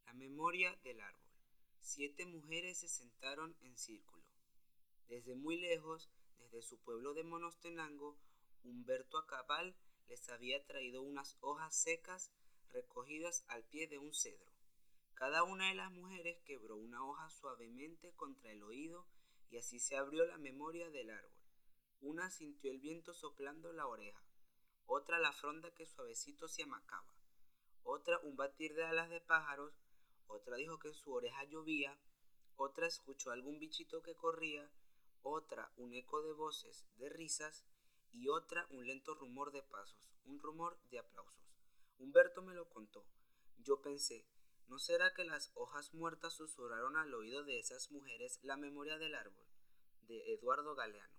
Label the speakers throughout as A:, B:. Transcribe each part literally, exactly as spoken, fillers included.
A: La memoria del árbol. Siete mujeres se sentaron en círculo. Desde muy lejos, desde su pueblo de Monostenango, Humberto Acabal les había traído unas hojas secas recogidas al pie de un cedro. Cada una de las mujeres quebró una hoja suavemente contra el oído y así se abrió la memoria del árbol. Una sintió el viento soplando la oreja, otra la fronda que suavecito se amacaba, otra un batir de alas de pájaros, otra dijo que en su oreja llovía, otra escuchó algún bichito que corría, otra un eco de voces, de risas, y otra un lento rumor de pasos, un rumor de aplausos. Humberto me lo contó. Yo pensé, ¿no será que las hojas muertas susurraron al oído de esas mujeres la memoria del árbol? De Eduardo Galeano.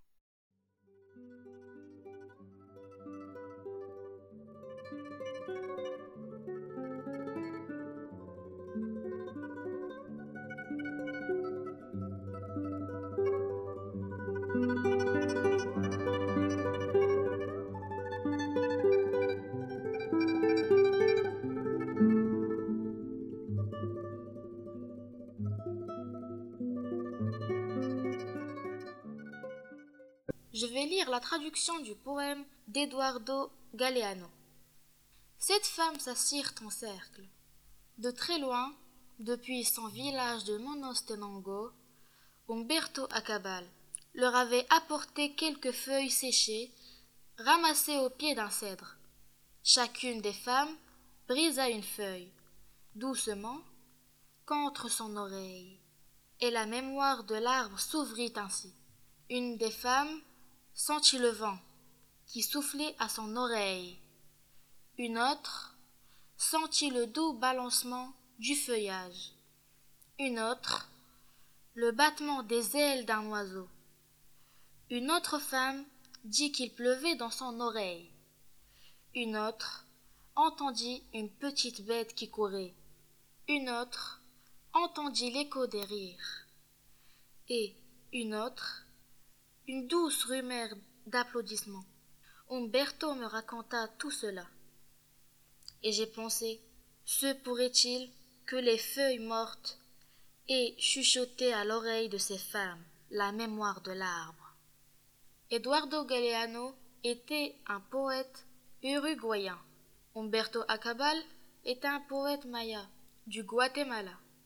B: Je vais lire la traduction du poème d'Eduardo Galeano. Sept femmes s'assirent en cercle. De très loin, depuis son village de Monostenango, Umberto Acabal leur avait apporté quelques feuilles séchées, ramassées au pied d'un cèdre. Chacune des femmes brisa une feuille, doucement, contre son oreille, et la mémoire de l'arbre s'ouvrit ainsi. Une des femmes sentit le vent qui soufflait à son oreille. Une autre sentit le doux balancement du feuillage. Une autre, le battement des ailes d'un oiseau. Une autre femme dit qu'il pleuvait dans son oreille. Une autre entendit une petite bête qui courait. Une autre entendit l'écho des rires. Et une autre, une douce rumeur d'applaudissements. Umberto me raconta tout cela. Et j'ai pensé, se pourrait-il que les feuilles mortes aient chuchoté à l'oreille de ces femmes la mémoire de l'arbre. Eduardo Galeano était un poète uruguayen. Humberto Acabal est un poète maya du Guatemala.